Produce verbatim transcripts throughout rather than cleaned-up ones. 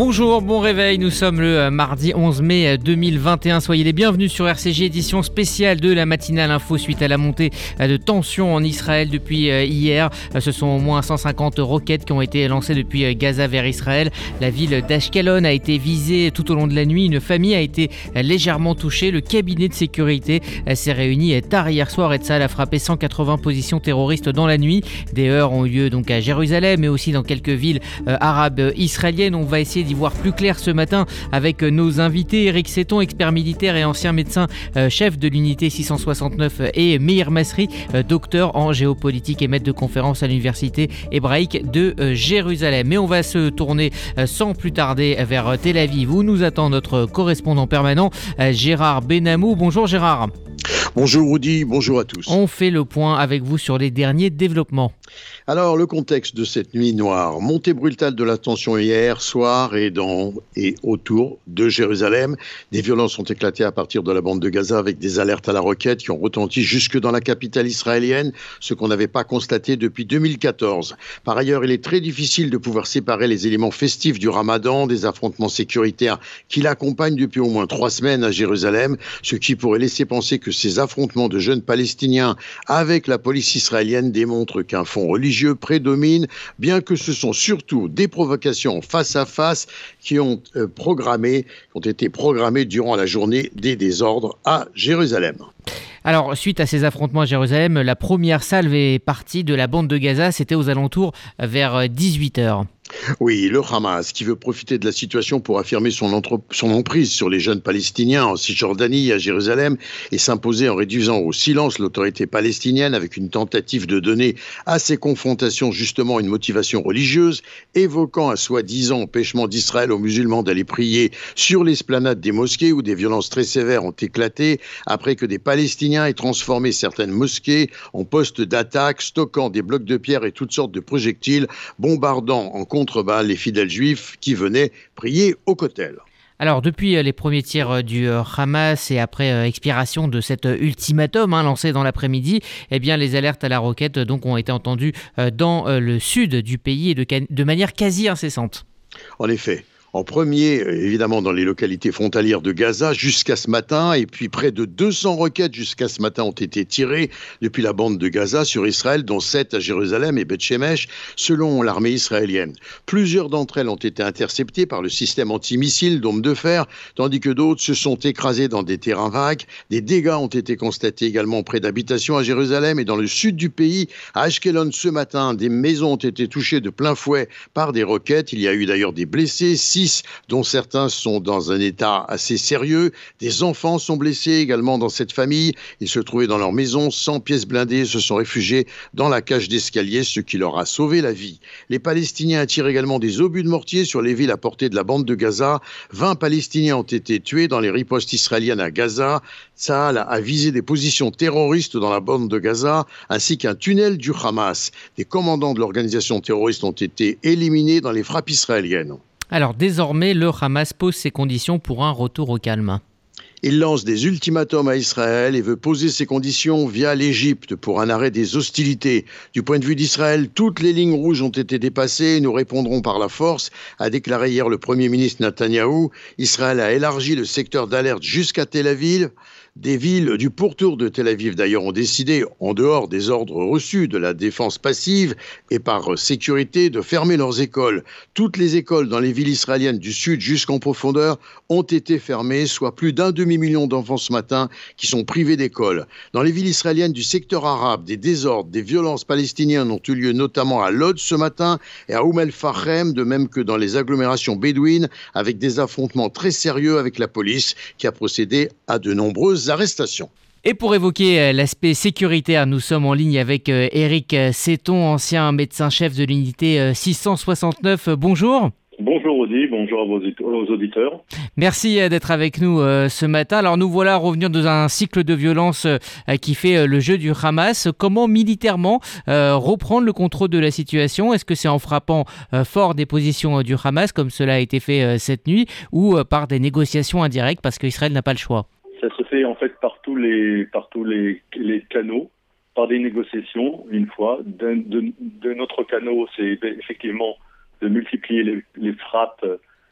Bonjour, bon réveil, nous sommes le mardi onze mai deux mille vingt et un. Soyez les bienvenus sur R C J, édition spéciale de la matinale info suite à la montée de tensions en Israël depuis hier. Ce sont au moins cent cinquante roquettes qui ont été lancées depuis Gaza vers Israël. La ville d'Ashkelon a été visée tout au long de la nuit. Une famille a été légèrement touchée. Le cabinet de sécurité s'est réuni tard hier soir et Tsahal a frappé cent quatre-vingts positions terroristes dans la nuit. Des heurts ont eu lieu donc à Jérusalem mais aussi dans quelques villes arabes israéliennes. On va essayer d'y voir plus clair ce matin avec nos invités. Éric Seton, expert militaire et ancien médecin euh, chef de l'unité six cent soixante-neuf, et Meir Masri, euh, docteur en géopolitique et maître de conférence à l'université hébraïque de euh, Jérusalem. Mais on va se tourner euh, sans plus tarder vers euh, Tel Aviv où nous attend notre correspondant permanent euh, Gérard Benamou. Bonjour Gérard. Bonjour Rudy, bonjour à tous. On fait le point avec vous sur les derniers développements. Alors, le contexte de cette nuit noire, montée brutale de la tension hier soir et dans et autour de Jérusalem. Des violences ont éclaté à partir de la bande de Gaza avec des alertes à la roquette qui ont retenti jusque dans la capitale israélienne, ce qu'on n'avait pas constaté depuis deux mille quatorze. Par ailleurs, il est très difficile de pouvoir séparer les éléments festifs du Ramadan des affrontements sécuritaires qui l'accompagnent depuis au moins trois semaines à Jérusalem, ce qui pourrait laisser penser que ces affrontements de jeunes Palestiniens avec la police israélienne démontrent qu'un fond religieux prédomine, bien que ce sont surtout des provocations face à face qui ont, euh, programmé, qui ont été programmées durant la journée des désordres à Jérusalem. Alors, suite à ces affrontements à Jérusalem, la première salve est partie de la bande de Gaza, c'était aux alentours vers dix-huit heures. Oui, le Hamas, qui veut profiter de la situation pour affirmer son, entre... son emprise sur les jeunes Palestiniens en Cisjordanie et à Jérusalem et s'imposer en réduisant au silence l'autorité palestinienne avec une tentative de donner à ces confrontations justement une motivation religieuse, évoquant un soi-disant empêchement d'Israël aux musulmans d'aller prier sur l'esplanade des mosquées où des violences très sévères ont éclaté après que des Palestiniens aient transformé certaines mosquées en postes d'attaque, stockant des blocs de pierre et toutes sortes de projectiles, bombardant en contrebas les fidèles juifs qui venaient prier au Kotel. Alors, depuis les premiers tirs du Hamas et après euh, expiration de cet ultimatum hein, lancé dans l'après-midi, eh bien, les alertes à la roquette donc, ont été entendues euh, dans euh, le sud du pays et de, de manière quasi incessante. En effet. En premier, évidemment, dans les localités frontalières de Gaza jusqu'à ce matin, et puis près de deux cents roquettes jusqu'à ce matin ont été tirées depuis la bande de Gaza sur Israël, dont sept à Jérusalem et Beth Shemesh, selon l'armée israélienne. Plusieurs d'entre elles ont été interceptées par le système antimissile Dôme de fer, tandis que d'autres se sont écrasées dans des terrains vagues. Des dégâts ont été constatés également près d'habitations à Jérusalem et dans le sud du pays. À Ashkelon ce matin, des maisons ont été touchées de plein fouet par des roquettes. Il y a eu d'ailleurs des blessés, six dont certains sont dans un état assez sérieux. Des enfants sont blessés également dans cette famille. Ils se trouvaient dans leur maison sans pièces blindées et se sont réfugiés dans la cage d'escalier, ce qui leur a sauvé la vie. Les Palestiniens attirent également des obus de mortier sur les villes à portée de la bande de Gaza. vingt Palestiniens ont été tués dans les ripostes israéliennes à Gaza. Tsahal a visé des positions terroristes dans la bande de Gaza ainsi qu'un tunnel du Hamas. Des commandants de l'organisation terroriste ont été éliminés dans les frappes israéliennes. Alors désormais, le Hamas pose ses conditions pour un retour au calme. Il lance des ultimatums à Israël et veut poser ses conditions via l'Égypte pour un arrêt des hostilités. Du point de vue d'Israël, toutes les lignes rouges ont été dépassées et nous répondrons par la force, a déclaré hier le Premier ministre Netanyahou. Israël a élargi le secteur d'alerte jusqu'à Tel Aviv. Des villes du pourtour de Tel Aviv, d'ailleurs, ont décidé, en dehors des ordres reçus de la défense passive et par sécurité, de fermer leurs écoles. Toutes les écoles dans les villes israéliennes du sud jusqu'en profondeur ont été fermées, soit plus d'un demi-million d'enfants ce matin qui sont privés d'école. Dans les villes israéliennes du secteur arabe, des désordres, des violences palestiniennes ont eu lieu notamment à Lod ce matin et à Oum el-Fachem, de même que dans les agglomérations bédouines, avec des affrontements très sérieux avec la police qui a procédé à de nombreuses arrestations. Et pour évoquer l'aspect sécuritaire, nous sommes en ligne avec Éric Seton, ancien médecin-chef de l'unité six cent soixante-neuf. Bonjour. Bonjour Audi, bonjour à vos auditeurs. Merci d'être avec nous ce matin. Alors nous voilà revenus dans un cycle de violence qui fait le jeu du Hamas. Comment militairement reprendre le contrôle de la situation ? Est-ce que c'est en frappant fort des positions du Hamas, comme cela a été fait cette nuit, ou par des négociations indirectes parce qu'Israël n'a pas le choix ? Ça se fait en fait par tous les, par tous les, les canaux, par des négociations, une fois. D'un, de, de notre canot, c'est effectivement de multiplier les, les frappes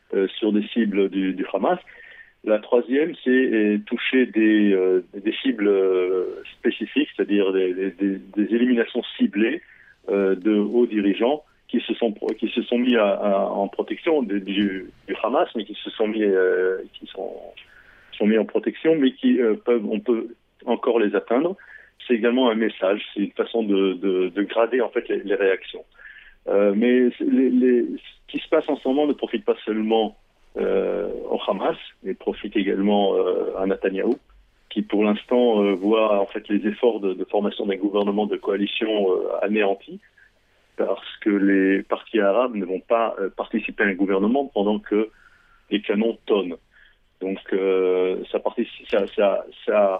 euh, sur des cibles du, du Hamas. La troisième, c'est euh, toucher des, euh, des cibles euh, spécifiques, c'est-à-dire des, des, des éliminations ciblées euh, de hauts dirigeants qui se sont qui se sont mis à, à, en protection de, du, du Hamas, mais qui se sont mis euh, qui sont sont mis en protection, mais qui euh, peuvent on peut encore les atteindre. C'est également un message, c'est une façon de, de, de grader en fait les, les réactions. Euh, mais les, les, ce qui se passe en ce moment ne profite pas seulement euh, au Hamas, mais profite également euh, à Netanyahou, qui pour l'instant euh, voit en fait les efforts de, de formation d'un gouvernement de coalition euh, anéantis, parce que les partis arabes ne vont pas euh, participer à un gouvernement pendant que les canons tonnent. Donc euh, ça, participe, ça, ça, ça,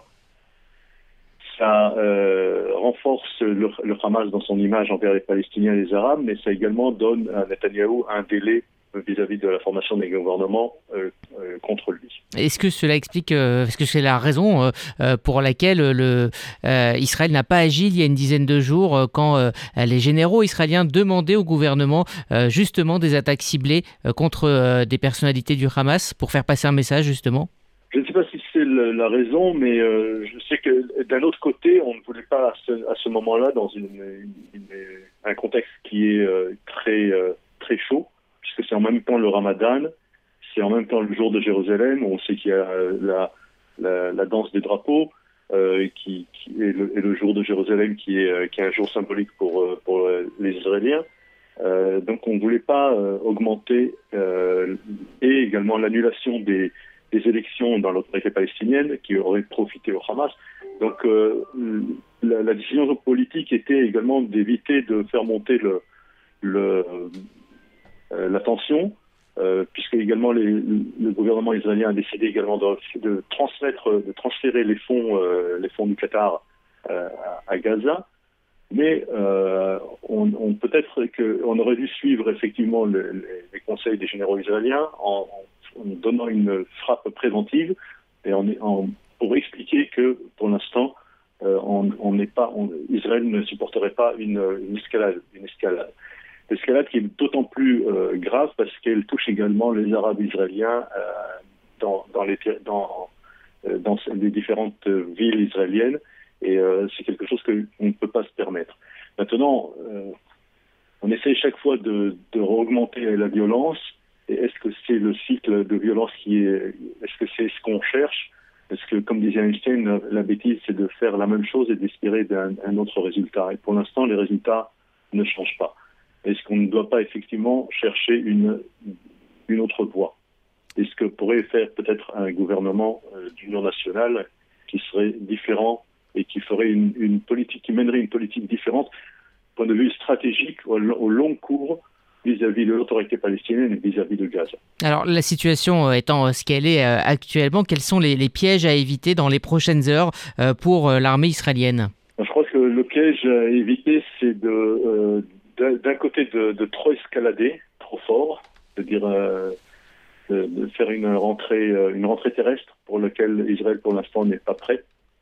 ça euh, renforce le, le Hamas dans son image envers les Palestiniens et les Arabes, mais ça également donne à Netanyahou un délai vis-à-vis de la formation des gouvernements euh, euh, contre lui. Est-ce que cela explique, euh, est-ce que c'est la raison euh, pour laquelle le, euh, Israël n'a pas agi il y a une dizaine de jours euh, quand euh, les généraux israéliens demandaient au gouvernement euh, justement des attaques ciblées euh, contre euh, des personnalités du Hamas pour faire passer un message justement ? Je ne sais pas si c'est le, la raison, mais euh, je sais que d'un autre côté, on ne voulait pas à ce, à ce moment-là, dans une, une, une, un contexte qui est euh, très, euh, très chaud, puisque c'est en même temps le Ramadan, c'est en même temps le jour de Jérusalem, on sait qu'il y a la, la, la danse des drapeaux, euh, qui, qui est, le, est le jour de Jérusalem qui est, qui est un jour symbolique pour, pour les Israéliens. Euh, donc on ne voulait pas euh, augmenter, euh, et également l'annulation des, des élections dans l'autorité palestinienne qui auraient profité au Hamas. Donc euh, la, la décision politique était également d'éviter de faire monter le, le Euh, la tension, euh, puisque également les, le gouvernement israélien a décidé également de, de transmettre, de transférer les fonds, euh, les fonds du Qatar euh, à, à Gaza. Mais euh, on, on peut-être qu'on aurait dû suivre effectivement le, les, les conseils des généraux israéliens en, en donnant une frappe préventive et en, en, pour expliquer que pour l'instant, euh, on n'est pas, on, Israël ne supporterait pas une, une escalade, une escalade. L'escalade qui est d'autant plus euh, grave parce qu'elle touche également les Arabes israéliens euh, dans, dans, les, dans, euh, dans les différentes villes israéliennes et euh, c'est quelque chose qu'on ne peut pas se permettre. Maintenant, euh, on essaie chaque fois de, de augmenter la violence et est-ce que c'est le cycle de violence qui est... Est-ce que c'est ce qu'on cherche ? Parce que, comme disait Einstein, la, la bêtise, c'est de faire la même chose et d'espérer d'un un autre résultat. Et pour l'instant, les résultats ne changent pas. Est-ce qu'on ne doit pas effectivement chercher une, une autre voie ? Est-ce que pourrait faire peut-être un gouvernement euh, d'union nationale qui serait différent et qui ferait une, une politique, qui mènerait une politique différente, point de vue stratégique au, au long cours vis-à-vis de l'autorité palestinienne et vis-à-vis de Gaza. Alors la situation étant ce qu'elle est actuellement, quels sont les, les pièges à éviter dans les prochaines heures pour l'armée israélienne ? Je crois que le piège à éviter, c'est de... Euh, d'un côté de, de trop escalader, trop fort, c'est-à-dire euh, de, de faire une rentrée, une rentrée terrestre pour laquelle Israël pour l'instant n'est pas prêt,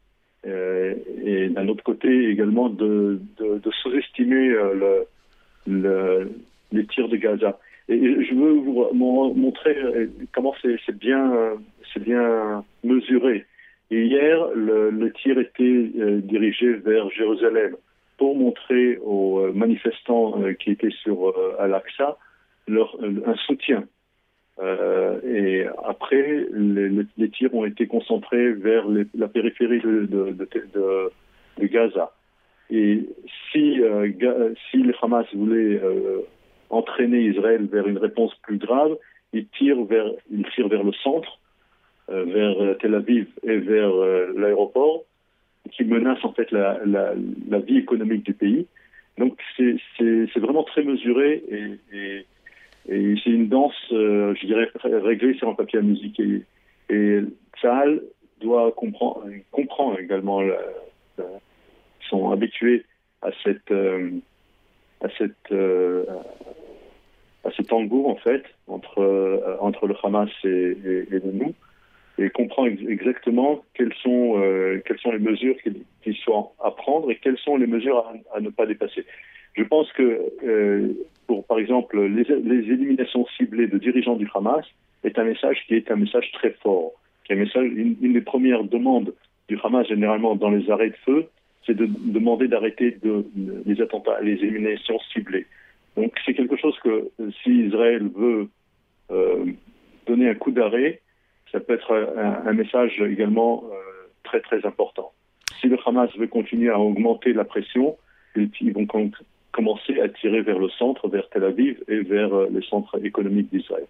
euh, et d'un autre côté également de, de, de sous-estimer euh, le, le, les tirs de Gaza. Et, et je veux vous montrer comment c'est, c'est bien, c'est bien mesuré. Et hier, le, le tir était euh, dirigé vers Jérusalem, pour montrer aux manifestants euh, qui étaient sur euh, Al-Aqsa leur, euh, un soutien. Euh, et après, les, les tirs ont été concentrés vers les, la périphérie de, de, de, de, de Gaza. Et si, euh, si le Hamas voulait euh, entraîner Israël vers une réponse plus grave, il tire vers, il tire vers le centre, euh, vers Tel Aviv et vers euh, l'aéroport, qui menace en fait la, la, la vie économique du pays. Donc c'est, c'est, c'est vraiment très mesuré et, et, et c'est une danse, euh, je dirais, réglée sur un papier à musique. Et, et Tsahal doit comprendre, comprend également, la, la, sont habitués à cette, euh, à cette, euh, à cet tango en fait entre euh, entre le Hamas et, et, et nous. Et comprend ex- exactement quelles sont, euh, quelles sont les mesures qui, qui sont à prendre et quelles sont les mesures à, à ne pas dépasser. Je pense que euh, pour par exemple, les, les éliminations ciblées de dirigeants du Hamas est un message qui est un message très fort. Qui est un message, une, une des premières demandes du Hamas, généralement, dans les arrêts de feu, c'est de demander d'arrêter de, de, les attentats, les éliminations ciblées. Donc, c'est quelque chose que, si Israël veut euh, donner un coup d'arrêt, ça peut être un, un message également euh, très, très important. Si le Hamas veut continuer à augmenter la pression, ils, ils vont com- commencer à tirer vers le centre, vers Tel Aviv et vers euh, le centre économique d'Israël.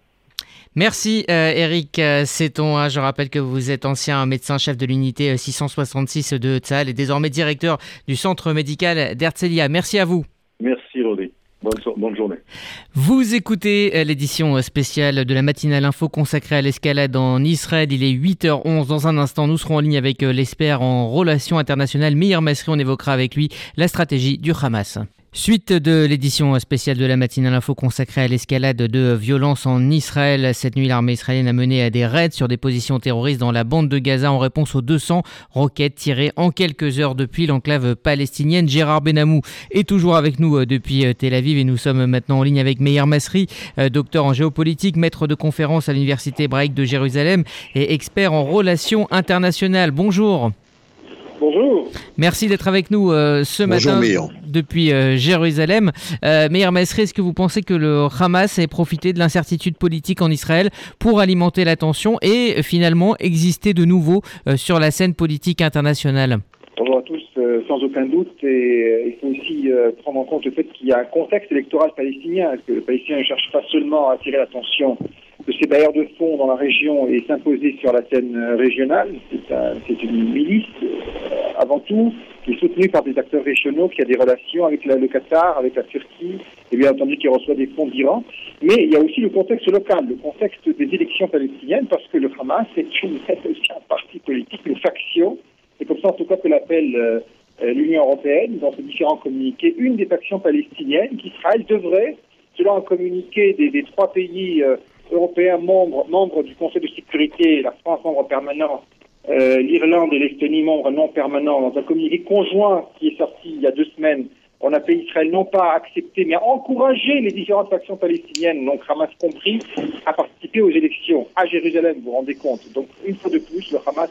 Merci euh, Eric Seton. Je rappelle que vous êtes ancien médecin-chef de l'unité six cent soixante-six de Tsahal et désormais directeur du centre médical d'Herzliya. Merci à vous. Merci Rodé. Bonne, so- bonne journée. Vous écoutez l'édition spéciale de la matinale info consacrée à l'escalade en Israël. Il est huit heures onze. Dans un instant, nous serons en ligne avec l'expert en relations internationales, Meir Masri. On évoquera avec lui la stratégie du Hamas. Suite de l'édition spéciale de la matinale info consacrée à l'escalade de violence en Israël. Cette nuit, l'armée israélienne a mené des raids sur des positions terroristes dans la bande de Gaza en réponse aux deux cents roquettes tirées en quelques heures depuis l'enclave palestinienne. Gérard Benamou est toujours avec nous depuis Tel Aviv et nous sommes maintenant en ligne avec Meir Masri, docteur en géopolitique, maître de conférence à l'université hébraïque de Jérusalem et expert en relations internationales. Bonjour. Bonjour. Merci d'être avec nous euh, ce Bonjour, matin Meir. depuis euh, Jérusalem. Euh, Meir Masri, est-ce que vous pensez que le Hamas ait profité de l'incertitude politique en Israël pour alimenter la tension et euh, finalement exister de nouveau euh, sur la scène politique internationale ? Bonjour à tous, euh, sans aucun doute. Et euh, il faut aussi euh, prendre en compte le fait qu'il y a un contexte électoral palestinien, que le Palestinien ne cherche pas seulement à attirer l'attention de ses bailleurs de fonds dans la région et s'imposer sur la scène régionale. C'est, un, c'est une milice, euh, avant tout, qui est soutenue par des acteurs régionaux, qui a des relations avec la, le Qatar, avec la Turquie, et bien entendu qui reçoit des fonds d'Iran. Mais il y a aussi le contexte local, le contexte des élections palestiniennes, parce que le Hamas est, une, est aussi un parti politique, une faction. C'est comme ça, en tout cas, que l'appelle euh, l'Union européenne, dans ses différents communiqués, une des factions palestiniennes qu'Israël devrait, selon un communiqué des, des trois pays euh, européens membres, membres du Conseil de sécurité, la France membre permanent, euh, l'Irlande et l'Estonie membres non permanents, dans un communiqué conjoint qui est sorti il y a deux semaines, on appelle Israël non pas à accepter, mais à encourager les différentes factions palestiniennes, donc Hamas compris, à participer aux élections à Jérusalem, vous vous rendez compte. Donc, une fois de plus, le Hamas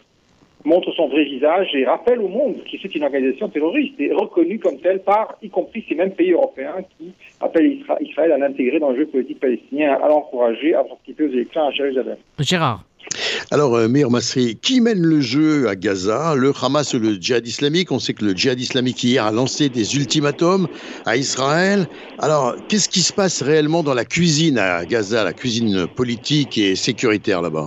montre son vrai visage et rappelle au monde que c'est une organisation terroriste et reconnue comme telle par, y compris ces mêmes pays européens qui appellent Israël à l'intégrer dans le jeu politique palestinien, à l'encourager à participer aux élections à Jérusalem. Gérard. Alors, euh, Meir Masri, qui mène le jeu à Gaza? Le Hamas ou le djihad islamique? On sait que le djihad islamique hier a lancé des ultimatums à Israël. Alors, qu'est-ce qui se passe réellement dans la cuisine à Gaza, la cuisine politique et sécuritaire là-bas?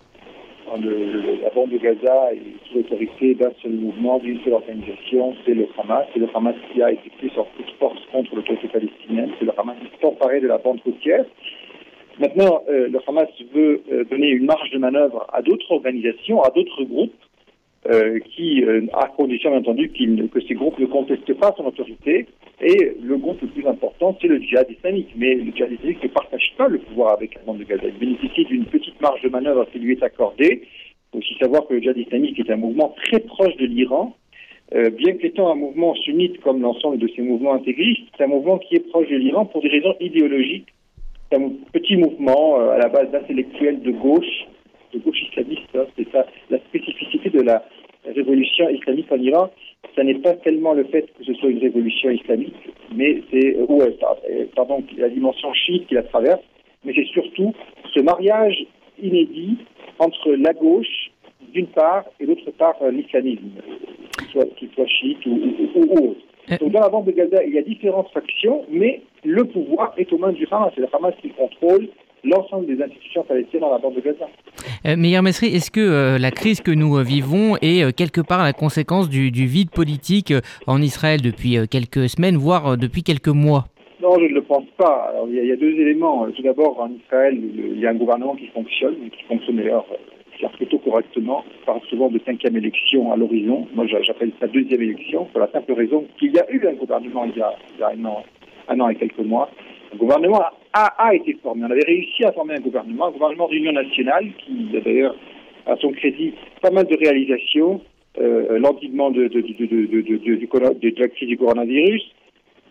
Le, le, la bande de Gaza est sous l'autorité d'un seul mouvement, d'une seule organisation, c'est le Hamas. C'est le Hamas qui a été pris sur toute force contre l'autorité palestinienne. C'est le Hamas qui s'est emparé de la bande côtière. Maintenant, euh, le Hamas veut euh, donner une marge de manœuvre à d'autres organisations, à d'autres groupes, euh, qui, euh, à condition bien entendu qu'il, que ces groupes ne contestent pas son autorité. Et le groupe le plus important, c'est le djihad islamique. Mais le djihad islamique ne partage pas le pouvoir avec la bande de Gaza. Il bénéficie d'une petite marge de manœuvre qui lui est accordée. Il faut aussi savoir que le djihad islamique est un mouvement très proche de l'Iran. Euh, bien qu'étant un mouvement sunnite comme l'ensemble de ces mouvements intégristes, c'est un mouvement qui est proche de l'Iran pour des raisons idéologiques. C'est un petit mouvement euh, à la base d'intellectuels de gauche, de gauche islamiste. Hein. C'est ça, la spécificité de la révolution islamique en Iran. Ce n'est pas tellement le fait que ce soit une révolution islamique, mais c'est euh, ouais, pardon, la dimension chiite qui la traverse, mais c'est surtout ce mariage inédit entre la gauche, d'une part, et d'autre part, euh, l'islamisme, qu'il soit, qu'il soit chiite ou, ou, ou autre. Donc dans la bande de Gaza, il y a différentes factions, mais le pouvoir est aux mains du Hamas. C'est le Hamas qui contrôle l'ensemble des institutions palestiniennes dans la bande de Gaza. Euh, Meir Masri, est-ce que euh, la crise que nous euh, vivons est euh, quelque part la conséquence du, du vide politique euh, en Israël depuis euh, quelques semaines, voire euh, depuis quelques mois? Non, je ne le pense pas. Alors, il, y a, il y a deux éléments. Tout d'abord, en Israël, le, il y a un gouvernement qui fonctionne, qui fonctionne d'ailleurs plutôt correctement. On parle souvent de cinquième élection à l'horizon. Moi, j'appelle ça deuxième élection, pour la simple raison qu'il y a eu un gouvernement il y a, il y a un, an, un an et quelques mois. Le gouvernement a, a été formé. On avait réussi à former un gouvernement, un gouvernement d'union nationale qui, d'ailleurs, à son crédit, pas mal de réalisations, euh, l'endiguement de, de, de, de, de, de, de, de, de la crise du coronavirus,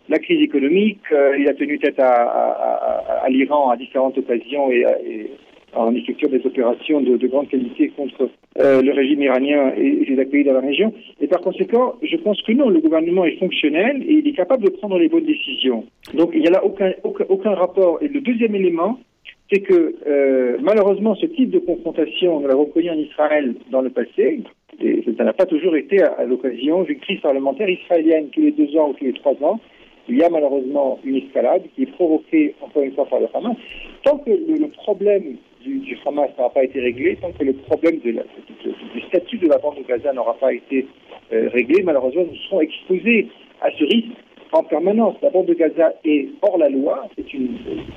la crise économique. Euh, il a tenu tête à, à, à, à l'Iran à différentes occasions et, et en effectuant des opérations de, de grande qualité contre euh, le régime iranien et, et ses pays dans la région. Et par conséquent, je pense que non, le gouvernement est fonctionnel et il est capable de prendre les bonnes décisions. Donc il n'y a là aucun, aucun, aucun rapport. Et le deuxième élément, c'est que euh, malheureusement, ce type de confrontation, nous l'avons connu en Israël dans le passé, et ça n'a pas toujours été à, à l'occasion d'une crise parlementaire israélienne tous les deux ans ou tous les trois ans. Il y a malheureusement une escalade qui est provoquée encore une fois par le Hamas. Tant que le, le problème du, du Hamas n'aura pas été réglé, tant que le problème de la, de, du statut de la bande de Gaza n'aura pas été euh, réglé, malheureusement nous serons exposés à ce risque en permanence. La bande de Gaza est hors la loi, c'est une,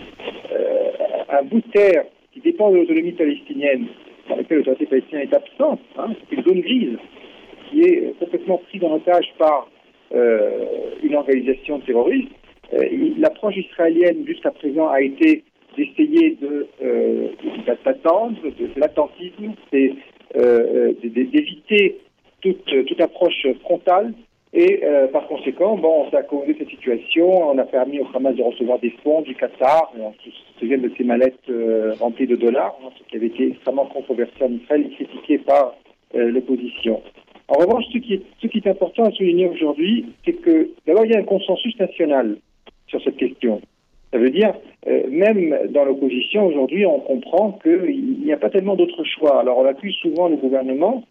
euh, un bout de terre qui dépend de l'autonomie palestinienne, dans lequel l'autorité palestinienne est absente. Hein, c'est une zone grise qui est complètement prise en otage par euh, une organisation terroriste. Euh, l'approche israélienne jusqu'à présent a été d'essayer de, euh, d'attendre, de, de l'attentisme, c'est euh, d'éviter toute, toute approche frontale. Et euh, par conséquent, bon, on a causé cette situation, on a permis au Hamas de recevoir des fonds du Qatar, on se souvient de ces mallettes euh, remplies de dollars, hein, ce qui avait été extrêmement controversé en Israël et critiqué par euh, l'opposition. En revanche, ce qui, est, ce qui est important à souligner aujourd'hui, c'est que d'abord il y a un consensus national sur cette question. Ça veut dire, euh, même dans l'opposition aujourd'hui, on comprend qu'il n'y a pas tellement d'autres choix. Alors on accuse souvent le gouvernement,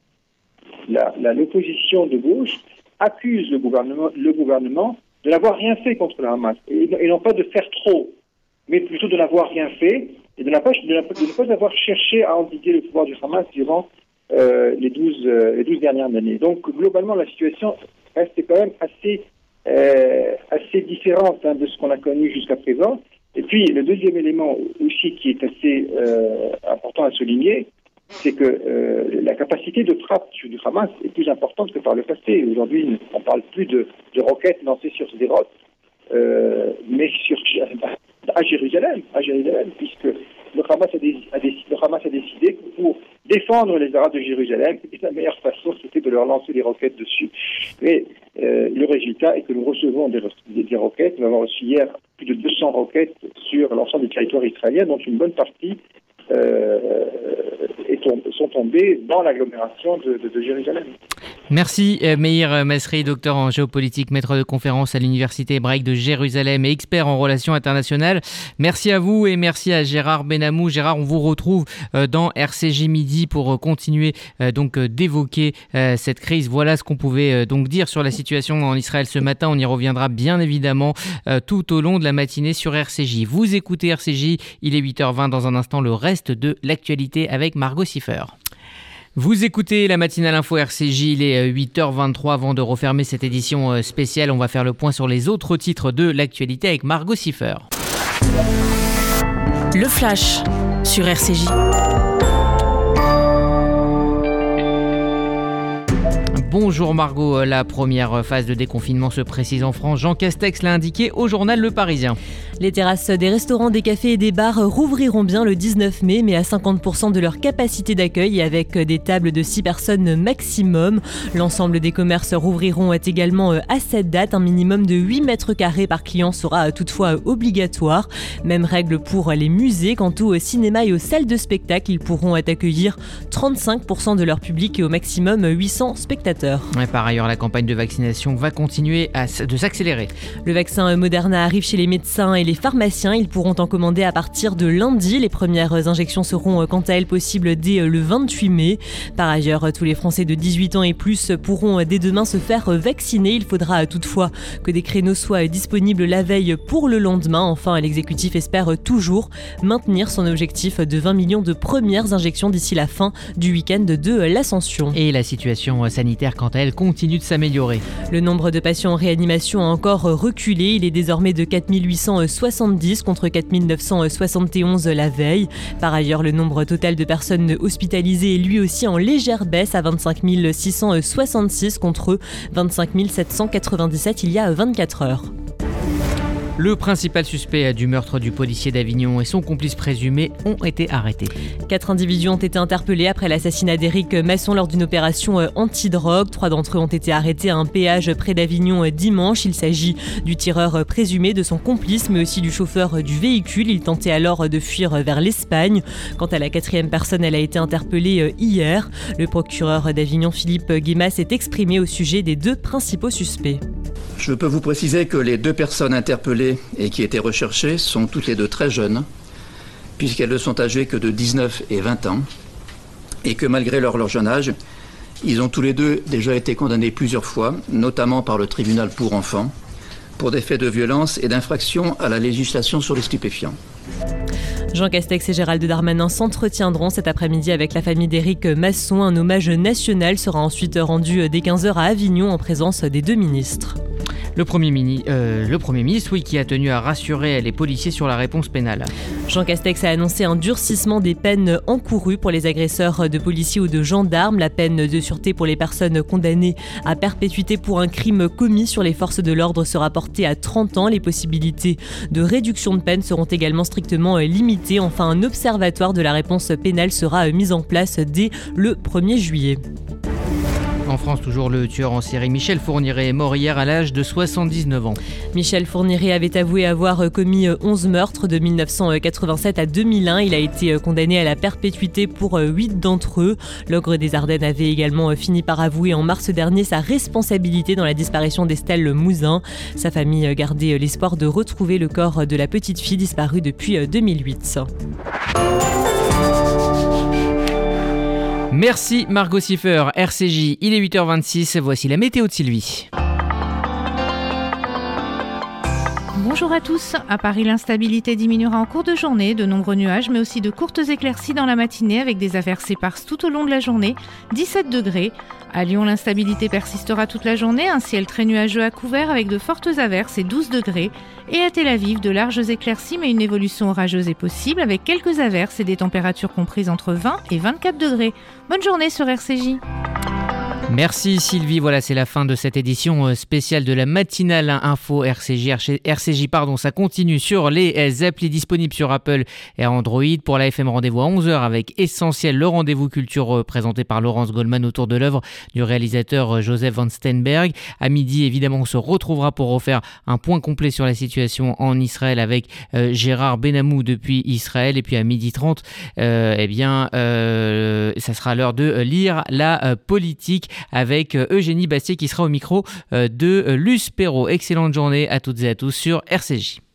la, la, l'opposition de gauche, accuse le gouvernement, le gouvernement de n'avoir rien fait contre le Hamas, et, et non pas de faire trop, mais plutôt de n'avoir rien fait et de, n'a pas, de, de ne pas avoir cherché à endiguer le pouvoir du Hamas durant euh, les douze euh, les douze dernières années. Donc globalement, la situation reste quand même assez, euh, assez différente hein, de ce qu'on a connu jusqu'à présent. Et puis le deuxième élément aussi qui est assez euh, important à souligner, c'est que euh, la capacité de frappe du Hamas est plus importante que par le passé. Aujourd'hui, on ne parle plus de, de roquettes lancées sur Sderot, euh, mais sur, à Jérusalem, à Jérusalem, puisque le Hamas, a des, a des, le Hamas a décidé que pour défendre les Arabes de Jérusalem, la meilleure façon, c'était de leur lancer des roquettes dessus. Et euh, le résultat est que nous recevons des, des, des roquettes. Nous avons reçu hier plus de deux cents roquettes sur l'ensemble du territoire israélien, dont une bonne partie Euh, et tom- sont tombés dans l'agglomération de, de, de Jérusalem. Merci Meir Masri, docteur en géopolitique, maître de conférence à l'Université hébraïque de Jérusalem et expert en relations internationales. Merci à vous et merci à Gérard Benamou. Gérard, on vous retrouve dans R C J Midi pour continuer donc d'évoquer cette crise. Voilà ce qu'on pouvait donc dire sur la situation en Israël ce matin. On y reviendra bien évidemment tout au long de la matinée sur R C J. Vous écoutez R C J, il est huit heures vingt. Dans un instant, le reste de l'actualité avec Margot Siffer. Vous écoutez la matinale info R C J, il est huit heures vingt-trois. Avant de refermer cette édition spéciale, on va faire le point sur les autres titres de l'actualité avec Margot Siffer. Le Flash sur R C J. Bonjour Margot, la première phase de déconfinement se précise en France. Jean Castex l'a indiqué au journal Le Parisien. Les terrasses des restaurants, des cafés et des bars rouvriront bien le dix-neuf mai, mais à cinquante pour cent de leur capacité d'accueil et avec des tables de six personnes maximum. L'ensemble des commerces rouvriront également à cette date. Un minimum de huit mètres carrés par client sera toutefois obligatoire. Même règle pour les musées. Quant au cinéma et aux salles de spectacle, ils pourront accueillir trente-cinq pour cent de leur public et au maximum huit cents spectateurs. Et par ailleurs, la campagne de vaccination va continuer à, de s'accélérer. Le vaccin Moderna arrive chez les médecins et les pharmaciens. Ils pourront en commander à partir de lundi. Les premières injections seront quant à elles possibles dès le vingt-huit mai. Par ailleurs, tous les Français de dix-huit ans et plus pourront dès demain se faire vacciner. Il faudra toutefois que des créneaux soient disponibles la veille pour le lendemain. Enfin, l'exécutif espère toujours maintenir son objectif de vingt millions de premières injections d'ici la fin du week-end de l'Ascension. Et la situation sanitaire, quant à elle, continue de s'améliorer. Le nombre de patients en réanimation a encore reculé. Il est désormais de quatre mille huit cent soixante-dix contre quatre mille neuf cent soixante et onze la veille. Par ailleurs, le nombre total de personnes hospitalisées est lui aussi en légère baisse à vingt-cinq mille six cent soixante-six contre vingt-cinq mille sept cent quatre-vingt-dix-sept il y a vingt-quatre heures. Le principal suspect du meurtre du policier d'Avignon et son complice présumé ont été arrêtés. Quatre individus ont été interpellés après l'assassinat d'Éric Masson lors d'une opération antidrogue. Trois d'entre eux ont été arrêtés à un péage près d'Avignon dimanche. Il s'agit du tireur présumé, de son complice, mais aussi du chauffeur du véhicule. Il tentait alors de fuir vers l'Espagne. Quant à la quatrième personne, elle a été interpellée hier. Le procureur d'Avignon, Philippe Guémas, s'est exprimé au sujet des deux principaux suspects. Je peux vous préciser que les deux personnes interpellées et qui étaient recherchées sont toutes les deux très jeunes, puisqu'elles ne sont âgées que de dix-neuf et vingt ans, et que malgré leur, leur jeune âge, ils ont tous les deux déjà été condamnés plusieurs fois, notamment par le tribunal pour enfants, pour des faits de violence et d'infraction à la législation sur les stupéfiants. Jean Castex et Gérald Darmanin s'entretiendront cet après-midi avec la famille d'Éric Masson. Un hommage national sera ensuite rendu dès quinze heures à Avignon en présence des deux ministres. Le Premier, mini, euh, le Premier ministre, oui, qui a tenu à rassurer les policiers sur la réponse pénale. Jean Castex a annoncé un durcissement des peines encourues pour les agresseurs de policiers ou de gendarmes. La peine de sûreté pour les personnes condamnées à perpétuité pour un crime commis sur les forces de l'ordre sera portée à trente ans. Les possibilités de réduction de peine seront également strictement limitées. Enfin, un observatoire de la réponse pénale sera mis en place dès le premier juillet. En France, toujours le tueur en série Michel Fourniret est mort hier à l'âge de soixante-dix-neuf ans. Michel Fourniret avait avoué avoir commis onze meurtres de mille neuf cent quatre-vingt-sept à deux mille un. Il a été condamné à la perpétuité pour huit d'entre eux. L'ogre des Ardennes avait également fini par avouer en mars dernier sa responsabilité dans la disparition d'Estelle Mouzin. Sa famille gardait l'espoir de retrouver le corps de la petite fille disparue depuis deux mille huit. Merci Margot Siffer, R C J, il est huit heures vingt-six, voici la météo de Sylvie. Bonjour à tous. À Paris, l'instabilité diminuera en cours de journée. De nombreux nuages, mais aussi de courtes éclaircies dans la matinée avec des averses éparses tout au long de la journée. dix-sept degrés. À Lyon, l'instabilité persistera toute la journée. Un ciel très nuageux à couvert avec de fortes averses et douze degrés. Et à Tel Aviv, de larges éclaircies, mais une évolution orageuse est possible avec quelques averses et des températures comprises entre vingt et vingt-quatre degrés. Bonne journée sur R C J. Merci Sylvie, voilà c'est la fin de cette édition spéciale de la matinale info R C J. R C J pardon, ça continue sur les applis disponibles sur Apple et Android. Pour la F M, rendez-vous à onze heures avec Essentiel, le rendez-vous culture présenté par Laurence Goldman autour de l'œuvre du réalisateur Joseph Van Steenberg. À midi, évidemment, on se retrouvera pour refaire un point complet sur la situation en Israël avec euh, Gérard Benamou depuis Israël. Et puis à midi trente, euh, eh bien, euh, ça sera l'heure de lire la euh, politique avec Eugénie Bastier qui sera au micro de Luce Perrault. Excellente journée à toutes et à tous sur R C J.